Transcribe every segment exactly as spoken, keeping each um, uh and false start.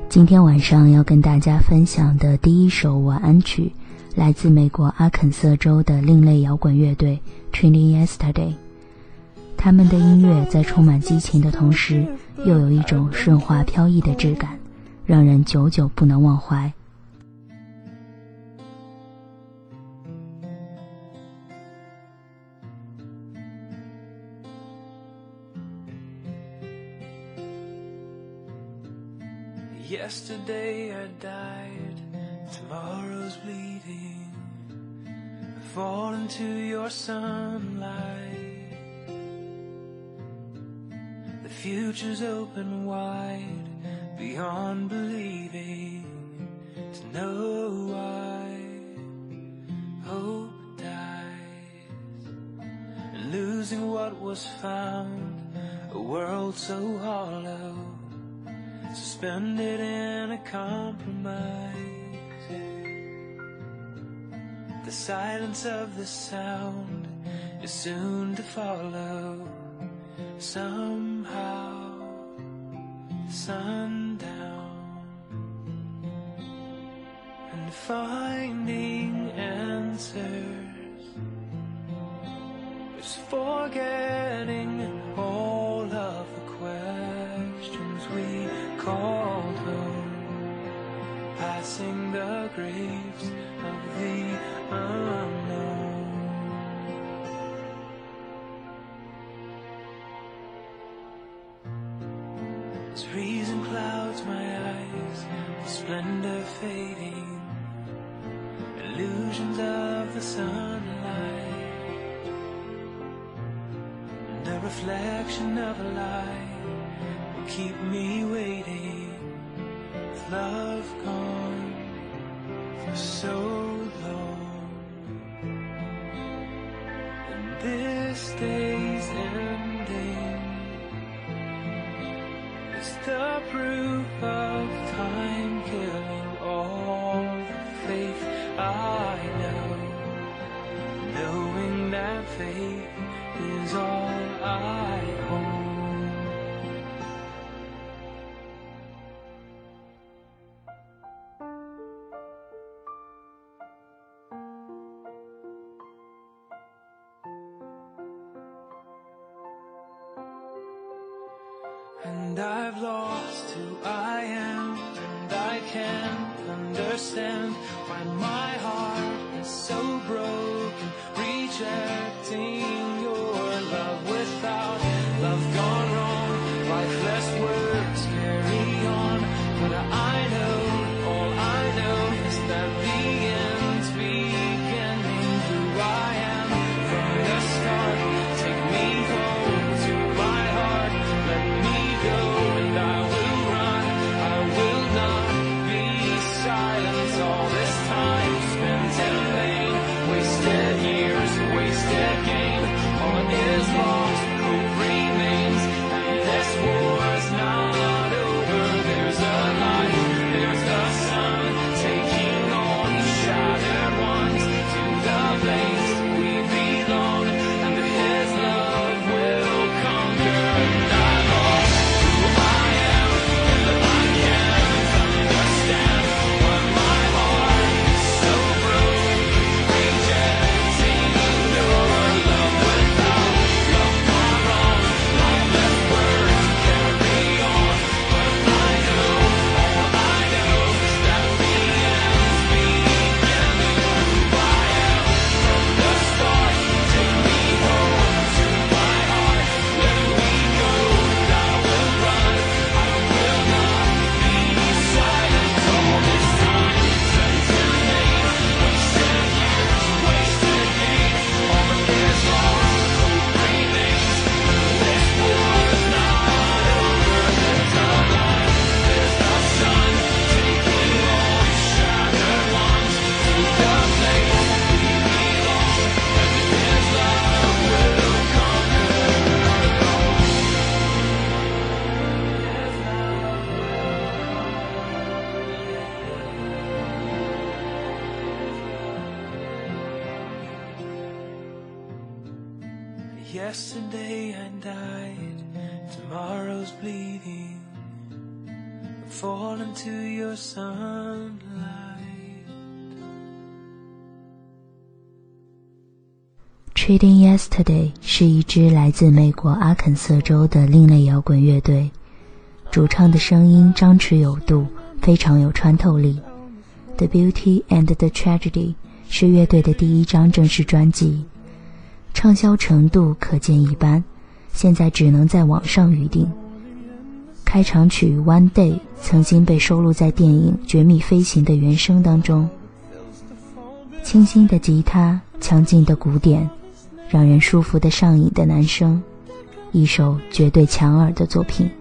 今天晚上要跟大家分享的第一首晚安曲，来自美国阿肯色州的另类摇滚乐队 Trini Yesterday。 他们的音乐在充满激情的同时，又有一种顺滑飘逸的质感，让人久久不能忘怀。 Yesterday I died, tomorrow's bleeding. I fall into your sunlight. The future's open wide, beyond believing. To know why hope dies, and losing what was found, a world so hollow.Suspended in a compromise. The silence of the sound is soon to follow. Somehow, sundown, and finding answers is forgetting all of the questions we called home, passing the graves of the unknown. As reason clouds my eyes, the splendor fading, illusions of the sunlight, and a reflection of a lie.Keep me waiting, with love gone for so long. And this day's ending is the proof of time killing all the faith I know, knowing that faith is all I hold.And I've lost who I am, and I can't understand why my heart is so broken, rejecting your love without love gone wrong. Lifeless words carry on, but I know, all I know is that the end's beginning. Who I am from the start, take me home to my heart, let me.And I will run, I will not be silent. All this time spent in vain, wasted years, wasted gain. All is lost, hope remains, and this war's not over. There's a light, there's the sun, taking all the shattered ones to the place we belong, and His love will conquer.And I lost.Understand why my heart is so broken, rejecting your love without love gone wrong. Lifeless words carry on, but I know, all I know is that the end's beginning. Who I am from the start, take me home to my heart, let me go, and I will run, I will not be silent.All this time spent in vain, wasted years, wasted gain. All is lost, hope remains, and this war's not over. There's a light, there's the sun, taking all the shattered ones to the place we belong, and His love will conquer.Yesterday I died, tomorrow's bleeding. fall into your sunlight. Treating Yesterday 是一支来自美国阿肯色州的另类摇滚乐队，主唱的声音张弛有度，非常有穿透力。The Beauty and the Tragedy 是乐队的第一张正式专辑，畅销程度可见一斑，现在只能在网上预订。开场曲 One Day 曾经被收录在电影《绝密飞行》的原声当中。清新的吉他，强劲的鼓点，让人舒服的上瘾的男声，一首绝对强耳的作品。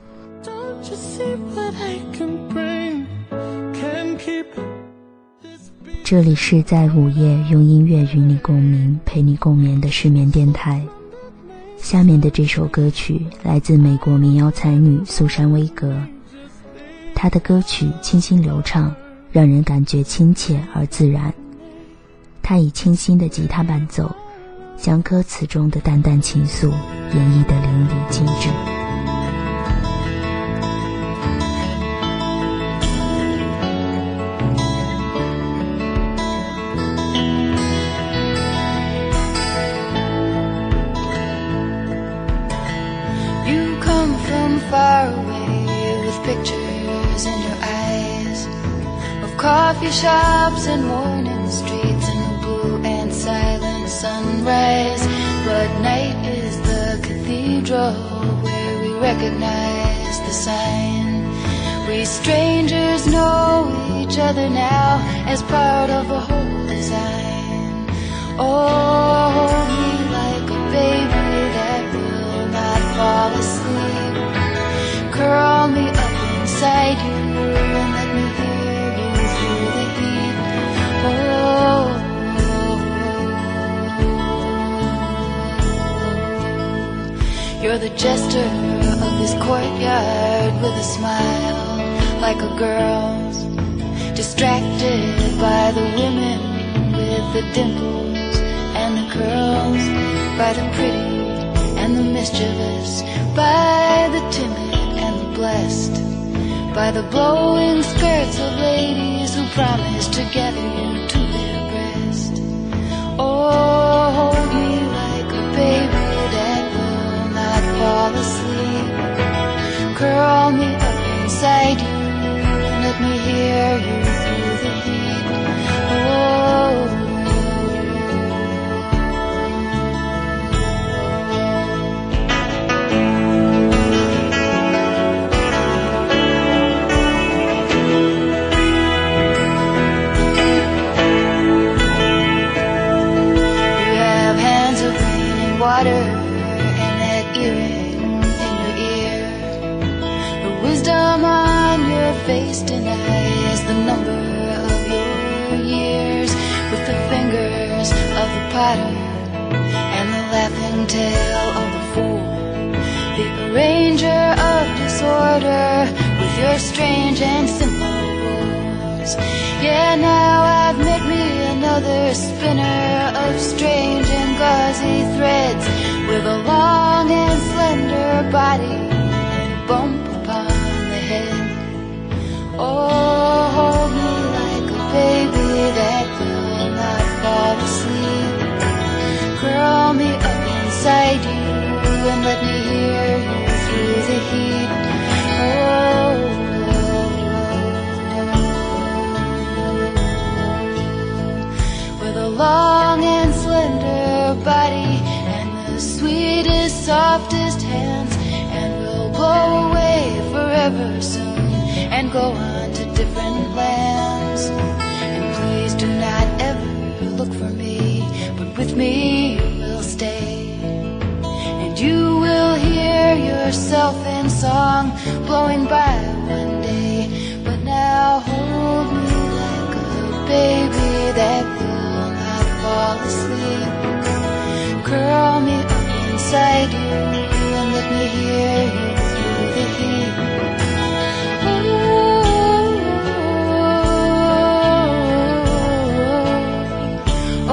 这里是在午夜用音乐与你共鸣，陪你共眠的失眠电台。下面的这首歌曲来自美国民谣才女苏珊威格，她的歌曲清新流畅，让人感觉亲切而自然。她以清新的吉他伴奏，将歌词中的淡淡情愫演绎得淋漓尽致。 Far away with pictures in your eyes of coffee shops and morning streets and the blue and silent sunrise. But night is the cathedral where we recognize the sign. We strangers know each other now as part of a whole design. Oh, hold me like a baby that will not fall asleep.Curl me up inside you and let me hear you through the heat. Oh, you're the jester of this courtyard with a smile like a girl's, distracted by the women with the dimples and the curls, by the pretty and the mischievous, by the timid,blessed by the blowing skirts of ladies who promise to gather you to their breast. Oh, hold me like a baby that will not fall asleep. Curl me up inside you and let me hear you through the heat. Oh.Water and that earring in your ear, the wisdom on your face denies the number of your years, with the fingers of the potter and the laughing tail of the fool, the arranger of disorder with your strange and simple rules. Yeah, now I've met me another spinner of strange and gauzy threads, with a long and slender body and a bump upon the head. Oh, hold me like a baby that will not fall asleep. Curl me up inside you and let me hear you through the heat. Oh.Long and slender body and the sweetest, softest hands, and we'll blow away forever soon and go on to different lands. And please do not ever look for me, but with me you will stay, and you will hear yourself in song blowing by one day. But now hold me like a baby that fall asleep. Curl me up inside you and let me hear you through the heat. Oh, oh,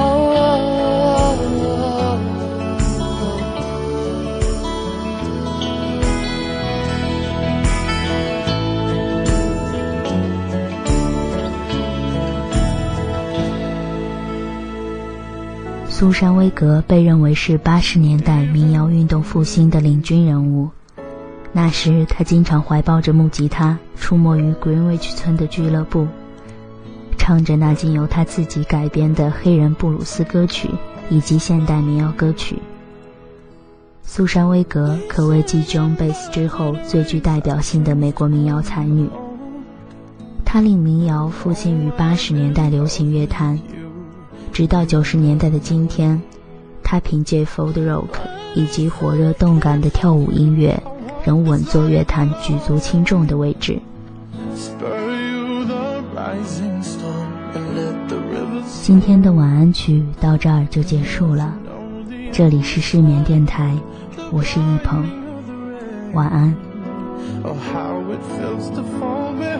oh, oh. 苏珊·威格被认为是八十年代民谣运动复兴的领军人物。那时他经常怀抱着木吉他出没于 Greenwich 村的俱乐部，唱着那经由他自己改编的黑人布鲁斯歌曲以及现代民谣歌曲。苏珊·威格可谓继 Joan Baez 之后最具代表性的美国民谣才女。她令民谣复兴于八十年代流行乐坛，直到九十年代的今天，她凭借 folk rock 以及火热动感的跳舞音乐，仍稳坐乐坛举足轻重的位置。今天的晚安曲到这儿就结束了，这里是失眠电台，我是一鹏，晚安。Oh, how it feels to fall behind.